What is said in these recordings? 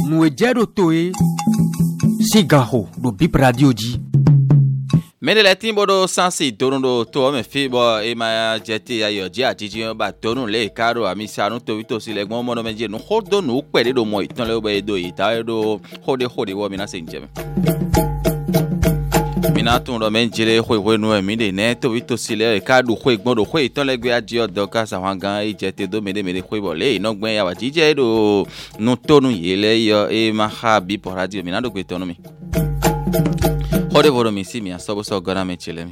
Nuejero toe Sigaho do Bip Radio Ji. Mene la timbo do sansi torundo to me fibo e ma jeti ayo ji ajiji ba torun le karo amisa no to vito sile gbon mo no meje no hodo no pere do mo itan le be do ita do hode wo mi na se njem. Mina tun do menjire hwe no mi de ne to vito sile ka do hwe gbon do hwe itan le gbe aji odo ka sa wan gan e jeti do mede hwe bo le ino gbon ya wa jije do no tonu yele yo e ma ha bi por radio mina do gbe tonu mi. Hode voro mi si mi asobo so gora me chilemi.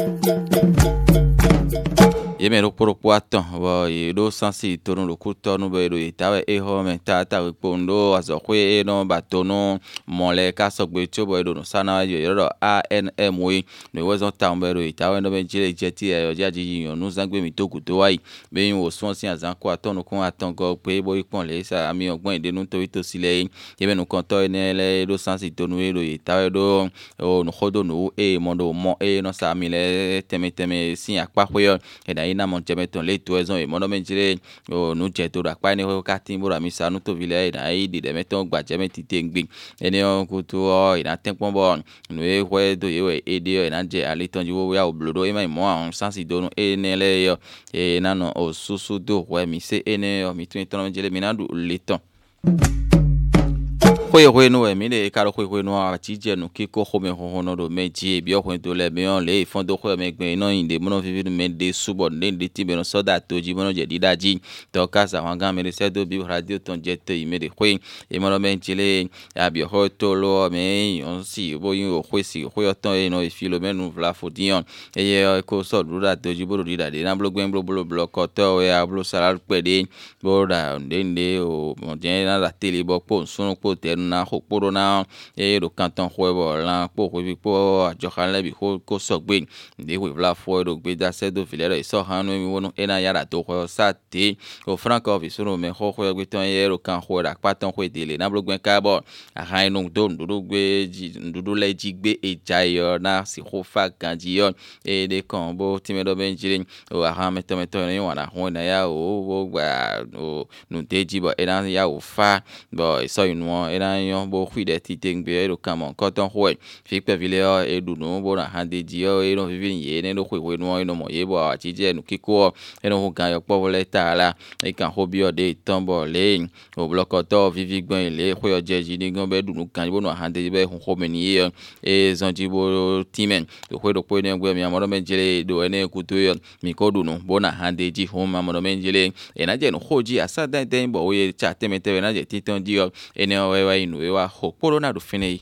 Yeme ro poropo aton wo e do sansi torun lo kuto no be do itawe e ho me tata we pondo azokwe e no batono mole ka sogbe chobo do no sana yo ro ANM we no we zo tambe do itawe no be jile jeti e oja ji yon no zangbe mi toku to wai be yin wo sonsi azan ko aton no kun aton go pe bo ipon le sa ami ogbon ide nu to ito sile yeme no konto ene le do sansi tonu e do itawe do o no hodo no e mondo mo e no sa mi le teme sin apa hoyo e ina mon jemeton le toison e mono menjire o nu je to da pa ni ho ka tin bora mi sa nu to vile na i di de meton gba jemeti tengbe eni on ku to o ina tenpon bo nu e hwe do ye e de na je ali tonji wo ya oblodo e mai mo an sansi do nu e ne le yo e na no o susu do hwe mi se ene o mi tun ton menjire mi na du le ton hwe no e mi le ka ro hwe no a ti je nu ki ko ho me ho no do meji bi o hwe to le mi on le fon do hwe me gbe no inde mo no fi fi me de subo ne de ti be no so da to ji mo no je di daji to ka sa wan gan me se do bi radio ton je te i me de hwe e mo no me jile ya bi ho to lo me on si bo yin o hwe si hwe ton e no e fi lo me nu vla fo dion e ye ko so do da to ji bo di da de na blo gben blo ko to e a blo sala pe de bo da nde o mo je na da tele bo po sun po te na hokporo na e do kanton hwebo la po hwebi po ajohan bi ko sogbe de we vla fo do gbe da se do filero so hanu mi wono ena yara to hwe sate o franco vi suru me ho hwe gbe ton yero kan hwe da paton hwe dele na blogwen ka bo aha inu do ndudu gbe ndudu le jigbe ejayo na si ho fa kanji yo e de kan bo timedo benjire o aha meto ni wana ho na ya o gba o nu deji bo ena ya o fa bo so inu ena yon bo khide ti tengbe ro kamon koton hwe fi pe vile o edunu bo na hande ji o e no vivin ye ne no hwe no no mo ye bo ati je nu kiko e no gan yo po le tala e kan hobi o de tombo le o blokoto vivi gbon ile hwe o je ji ni gan be dunu kan bo no hande be hu ho ni ye e zonji bo timen to hwe do po ne gbe mi amoro menjele do ene kuto yo mi ko dunu bo na hande ji ho ma amoro menjele e na je no hoji asa den bo ye cha temete na je titon ji o ene o we inu wa hokporo na do fine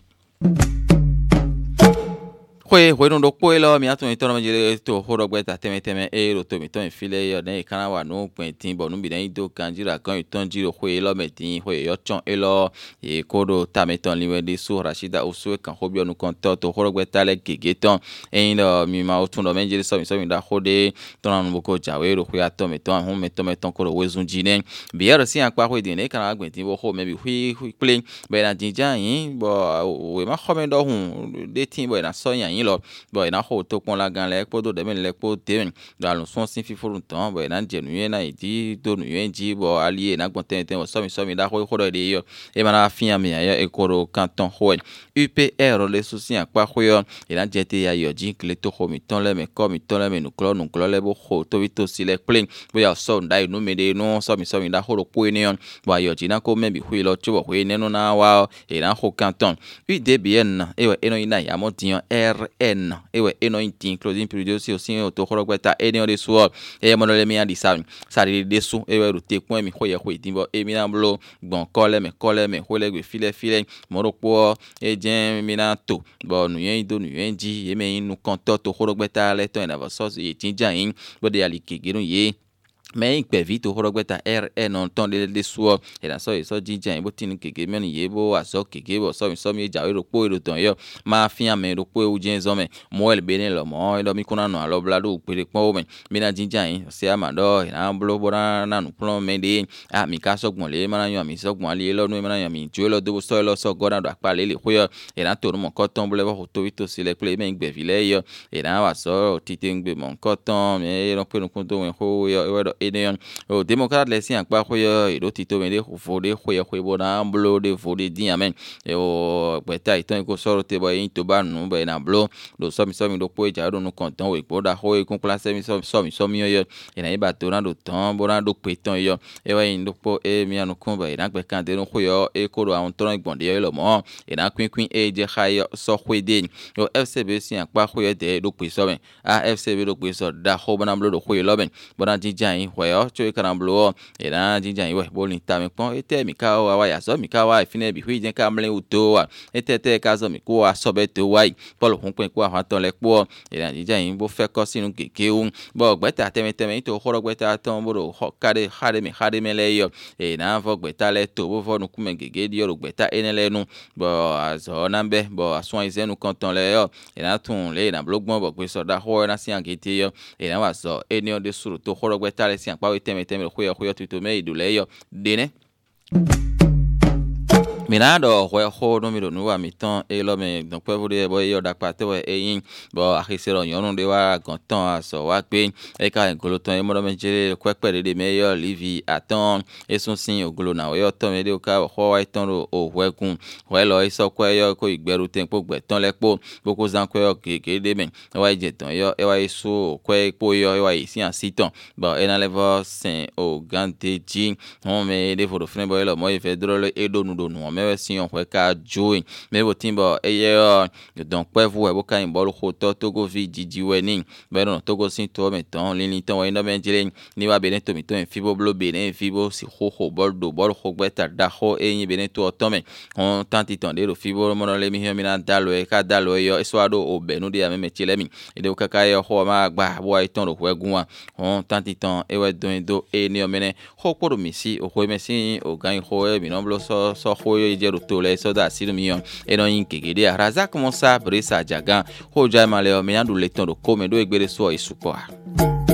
hwe no do poelo mi atun itono menjire to horo gbe ta teme e ro to mi ton file yo ne kana wa no pin tin bo nu bi den do kanjira kan iton jiro hwe lo metin hwe yo chon e lo e kodo tameton liwe de su Rashida usu kan hobi onu kon to horo gbe ta le gegeton e ndo mi ma otun do menjire so mi da hode ton nu ko jawe ro hwe ato meton hun meton ko ro wezun jine bi ero si anpa hwe de ne kana gbe tin bo ho me bi hwe play be na jinja yin bo we ma ho me do hun de tin bo na so yan lo bo ina ho to pon la gan le po do de me le po te da lo son sin fi forun ton bo ina jenu yen na idi do nu yen ji bo ali na gbon ten so mi da ho do de yo e ma na fian mi ya e koro canton ho UPR le souci anpa ho yo ina jete ya yo ji kle to ho mi ton le me ko mi ton le me nu klo le bo ho to vito si le play bo ya so ndai nu me de no so mi da ho ro po ni on bo yo ji na ko me bi hu lo cho bo ne no na wa ina ho canton UDBN e we eno ina ya mo dion RN ewe eno intin closing period si osin o to horo gbeta eni o de so e mo le mi andi sari de so ewe ro te pon mi hoye ho idinbo e mi na blo gbon kole me ho le gbe file mo ro po e jen mi na to bo nu yen do nu yen ji e me inu kan to horo gbeta le to en ava so e tinja yin bo de ali kigirun ye mais il peut vite au rogbeta RN on ton de so et la so jinja bo tin keke men yebo aso keke bo so mi jawe ro po ro ton yo ma fian me ro po u jenzo me mo el bene lo mo lo mi kuna no alo blado pere po me mi na jinja yin se amado na blo bora na no plon me de a mi ka so gbon le ma na yo mi so gbon ale lo no ma na yo mi jo lo do so go na do apa le ho yo e na to mo koton bole bo to vito si le play me gbe vile yo e na wa so titengbe mo koton me ro pe no kun to wen ho yo ene o démocrate les si akpa khoyo e do tito me de fode khoyo bona blo de fode din amen e o gbeta iton ko soro te bo yin to ba nu be na blo do so mi do po ja do nu kontan we po da ho e kun classe mi so mi yo e na ba to na do ton bo na do pe ton yo e wa yin do po e mi anu kun ba e na gbe kan de nu khoyo e ko do awon ton igbonde yo lo mo e na kwin e je khayo so khwede o FCB si akpa khoyo de do pe so ben a FCB do pe so da ho bona blo do khoyo lo ben bona jinja yin khoyo cho e kan blo e na jinja yin we bo ni ta mi pon e te mi ka wa ya so mi ka wa fine bi hui je ka mle uto wa e te ka so mi ko wa so be to wa polo hun pe ko wa ton le po e na jinja yin bo fe ko sinu keke un bo gbeta teme to khoro gbeta ton bo ro kade khade me le yo e na vo gbeta le to bo vo nu ku me gege di yo gbeta enele nu bo azo na be bo ason izenu konton le yo e na tun le na blogbon bo pe so da ho na si angete yo e na wa so eni o de suru to khoro gbeta le si anpa we teme khoyo tuto me idule yo dene Minado ho no mi do nu wa mi tan e lo me donc pe vode bo yo da pa te we eyin bo akisero yon de wa gantan aso wa pe e ka ngolo tan e mo do me jere kwepe de me yo livi atan e sun sin ogolo na yo tan me de o ka ho wa tan ro o wekun we lo iso kwe yo ko igberu ten po gbe tan lepo boko zan kwe yo keke de men wa je tan yo e wa iso kwe po yo e wa isi an sitan bo e na levo sen o gante ji on me de fo fren bo lo mo e fe drole e do nu me si on kwe ka join me bo timbo eye donc pe vous e bo ka imbo lo to togo vi jiji we ni be no togo sin to me ton lin ton we no ben jile ni wa benen to mi to en fibo blo benen fibo si ho bol ho gbeta da ho e yin benen to to me on tanti ton de lo fibo mo no le mi mi na dalo e ka dalo yo e so ado o benu de me chile mi e de ka ka yo ho ma gba bo ai ton ro wegun wa on tanti ton e we do e ni o mene ho podo mi si o ho me si o gan ho e mi no blo so ho jero tole so da silmion e no yin kegede araza como sa brisa jagan ho ja male o me andu leton do come do egbere so isupo.